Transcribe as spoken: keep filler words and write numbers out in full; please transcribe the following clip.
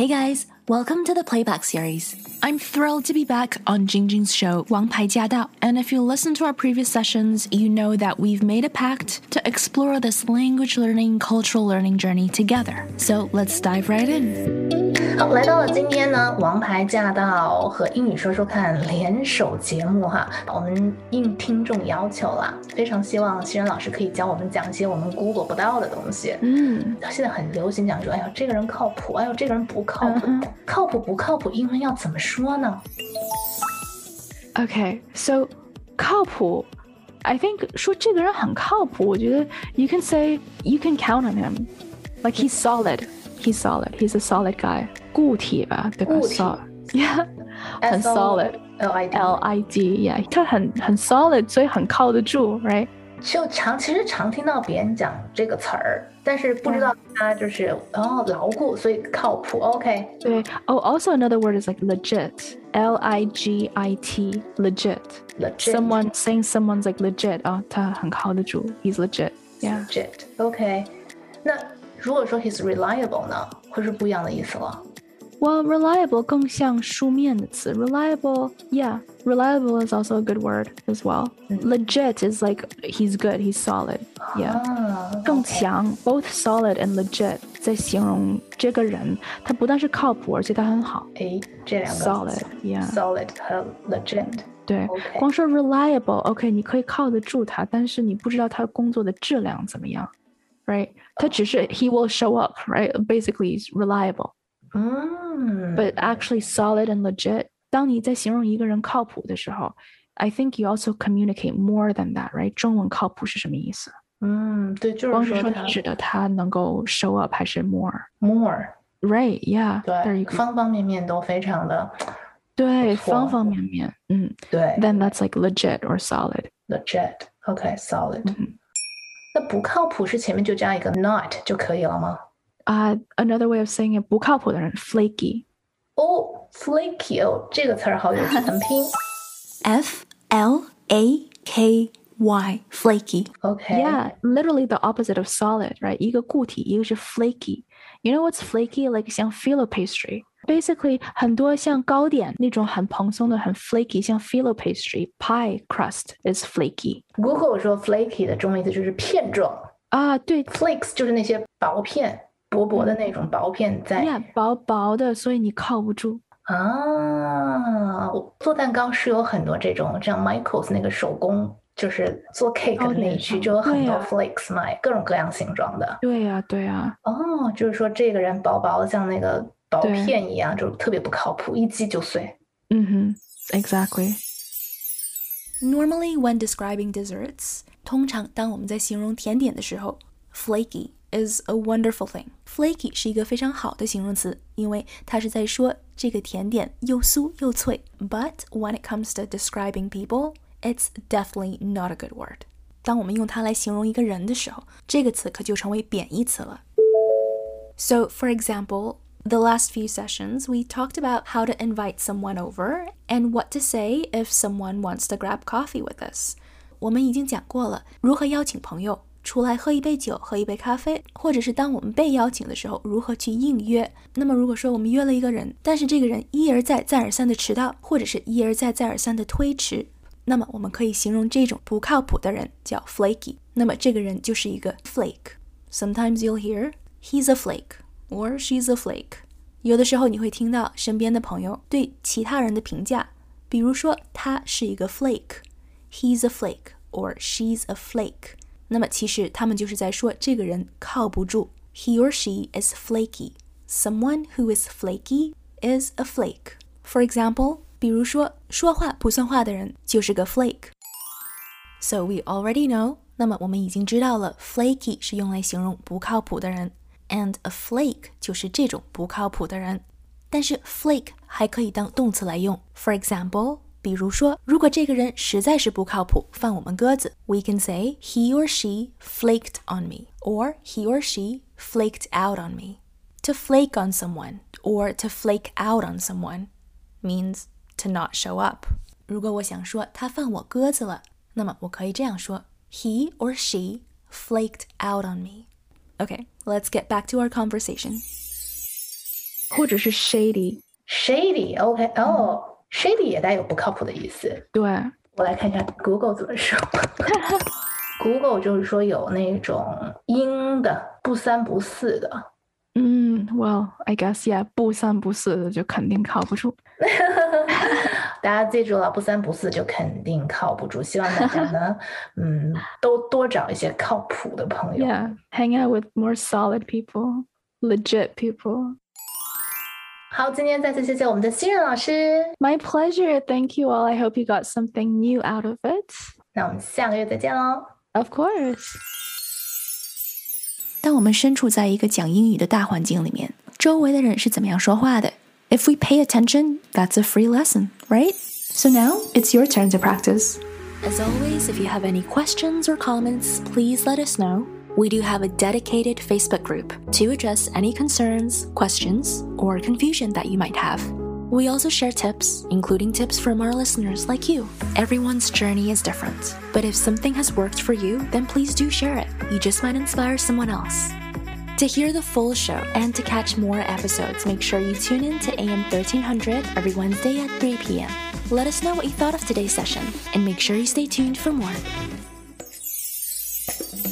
Hey guys, welcome to the Playback series. I'm thrilled to be back on Jingjing's show, 王牌驾到. And if you listen to our previous sessions, you know that we've made a pact to explore this language learning, cultural learning journey together. So let's dive right in. 好，来到了今天呢，王牌驾到和英语说说看联手节目哈，我们应听众要求啦，非常希望熙然老师可以教我们讲一些我们 Google 不到的东西。 嗯， 现在很流行讲说，哎呦，这个人靠谱，哎呦，这个人不靠谱，嗯、靠谱不靠谱，英文要怎么说呢 ？Okay, so 靠谱 I think 说这个人很靠谱，我觉得 you can say you can count on him, like he's solid. He's solid. He's a solid guy. 固体吧，对吧？ 固体 So, yeah, 很 solid. L I D L I D, yeah. 他很很 solid, 所以很靠得住 right? 就常其实常听到别人讲这个词儿，但是不知道他就是、嗯、哦牢固，所以靠谱。OK. 对。Oh, also another word is like legit. L I G I T. Legit. Legit. Someone saying someone's like legit. 哦，他很靠得住。He's legit. Yeah. Legit. OK. 那如果说 he's reliable 呢，会是不一样的意思了。 Well, reliable 更像书面的词。Reliable, yeah. Reliable is also a good word as well. Mm. Legit is like he's good, he's solid. Yeah. 啊、 更强 both solid and legit 在形容这个人，他不但是靠谱，而且他很好。 哎，这两个 solid, yeah. Solid 和 legit. 对， okay. 光说 reliable, OK, 你可以靠得住他，但是你不知道他工作的质量怎么样。Right? 他只是 he will show up, right? Basically, he's reliable. 嗯 But actually solid and legit. 当你在形容一个人靠谱的时候 I think you also communicate more than that, right? 中文靠谱是什么意思？ 嗯，对，就是光是说你指的他能够 show up 还是 more? More. Right, yeah. 对，方方面面都非常的对，方方面面，嗯， 对。 Then that's like legit or solid. Legit, OK, solid. 嗯， 那不靠谱是前面就加一个 not 就可以了吗？ 啊、uh, Another way of saying it, 不靠谱的人 flaky. 哦 flaky 哦，这个词儿好有趣，怎么拼 F L A K Y, flaky. OK. Yeah, literally the opposite of solid, right? 一个固体，一个是 flaky. You know what's flaky? Like 像 phyllo pastry. Basically, 很多像糕点那种很蓬松的很 flaky, 像 phyllo pastry, pie crust is flaky. Google 说 flaky 的中文意思就是片状啊，对 flakes 就是那些薄片薄薄的那种薄片在 yeah, 薄薄的，所以你靠不住啊。做蛋糕是有很多这种像 Michael's 那个手工就是做 cake 的那一区就有很多 flakes 卖、啊、各种各样形状的。 对呀、啊、对呀、啊、 哦，就是说这个人薄薄的像那个薄片一样就特别不靠谱，一击就碎。 嗯哼 Exactly. Normally when describing desserts, 通常当我们在形容甜点的时候 flaky is a wonderful thing. Flaky 是一个非常好的形容词，因为它是在说这个甜点又酥又脆。But when it comes to describing people, it's definitely not a good word. 当我们用它来形容一个人的时候，这个词可就成为贬义词了。So, for example, the last few sessions, we talked about how to invite someone over and what to say if someone wants to grab coffee with us. 我们已经讲过了，如何邀请朋友出来喝一杯酒，喝一杯咖啡，或者是当我们被邀请的时候，如何去应约。那么如果说我们约了一个人，但是这个人一而再再而三的迟到，或者是一而再再而三的推迟，那么我们可以形容这种不靠谱的人叫 flaky。那么这个人就是一个 flake. Sometimes you'll hear, he's a flake, or she's a flake. 有的时候你会听到身边的朋友对其他人的评价，比如说他是一个 flake, he's a flake, or she's a flake。那么其实他们就是在说这个人靠不住。He or she is flaky. Someone who is flaky is a flake. For example, 比如说说话不算话的人就是个 flake. So we already know, 那么我们已经知道了 flaky 是用来形容不靠谱的人 and a flake 就是这种不靠谱的人。但是 flake 还可以当动词来用。For example,比如说，如果这个人实在是不靠谱，放我们鸽子 we can say he or she flaked on me, or he or she flaked out on me. To flake on someone, or to flake out on someone, means to not show up. 如果我想说他放我鸽子了，那么我可以这样说 he or she flaked out on me. Okay, let's get back to our conversation. 或者是 shady。shady OK 哦、oh, shady 也带有不靠谱的意思。 对， 我来看一下 Google 怎么说。Google 就是说有那种阴的、不三不四的。 嗯 ，Well, I guess yeah， 不三不四的就肯定靠不住。 大家记住了，不三不四就肯定靠不住。希望大家呢，嗯，都多找一些靠谱的朋友。 Yeah, hang out with more solid people, legit people. 好，今天再次谢谢我们的新人老师。 My pleasure. Thank you all. I hope you got something new out of it. 那我们下个月再见喽。 Of course. 当我们身处在一个讲英语的大环境里面，周围的人是怎么样说话的？ If we pay attention, that's a free lesson, right? So now, it's your turn to practice. As always, if you have any questions or comments, please let us know. We do have a dedicated Facebook group to address any concerns, questions, or confusion that you might have. We also share tips, including tips from our listeners like you. Everyone's journey is different, but if something has worked for you, then please do share it. You just might inspire someone else. To hear the full show and to catch more episodes, make sure you tune in to A M thirteen hundred every Wednesday at three p.m. Let us know what you thought of today's session, and make sure you stay tuned for more.